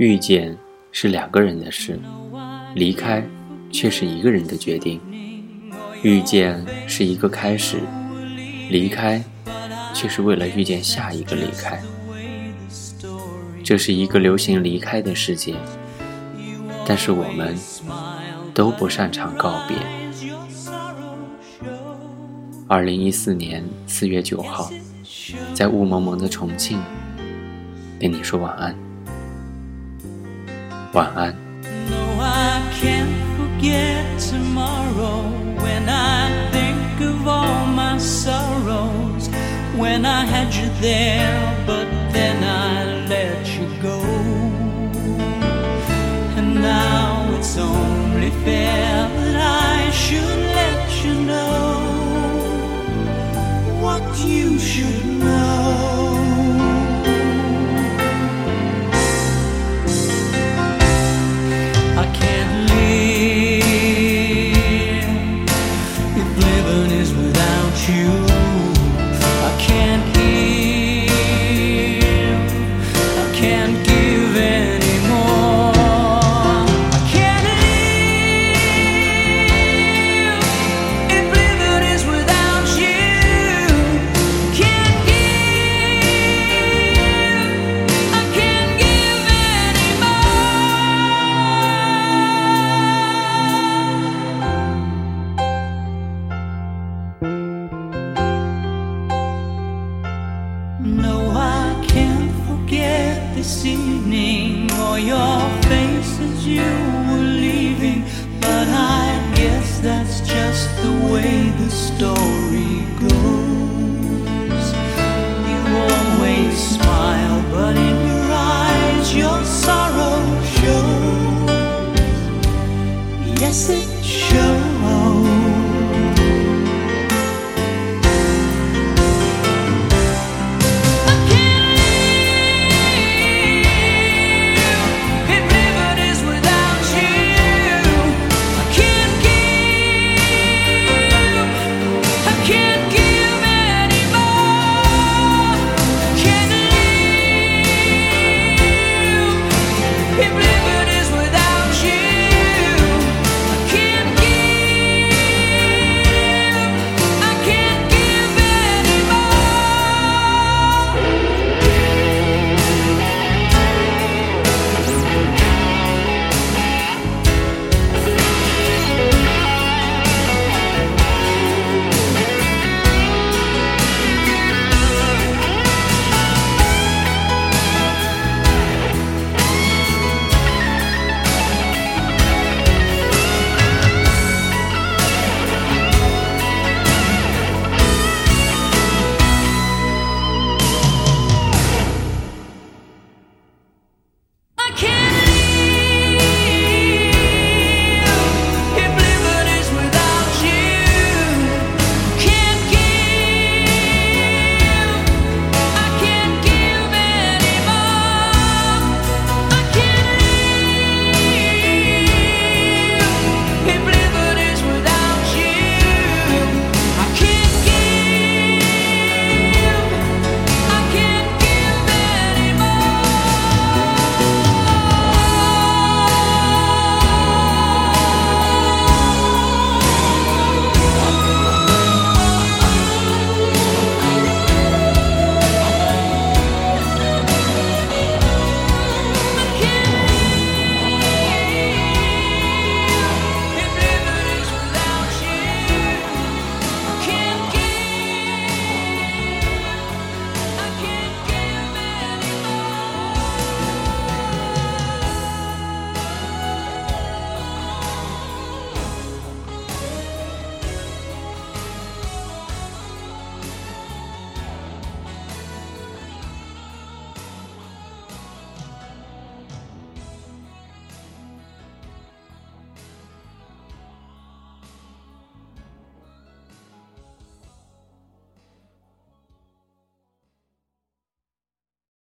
遇见是两个人的事，离开却是一个人的决定。遇见是一个开始，离开却是为了遇见下一个离开。这是一个流行离开的世界，但是我们都不擅长告别。2014年4月9号，在雾蒙蒙的重庆，跟你说晚安。晚安。 No, I can't forget tomorrow. When I think of all my sorrows, when I had you there, but then I let you go. And now it's only fair that I should let you know what you should know. I can't live if living is without you. I can't give, I can't give anymore. I can't live if living is without you. Can't give, I can't give No, I can't forget this evening or your face as you were leaving, but I guess that's just the way the story goes. You always smile, but in your eyes your sorrow shows. Yes, it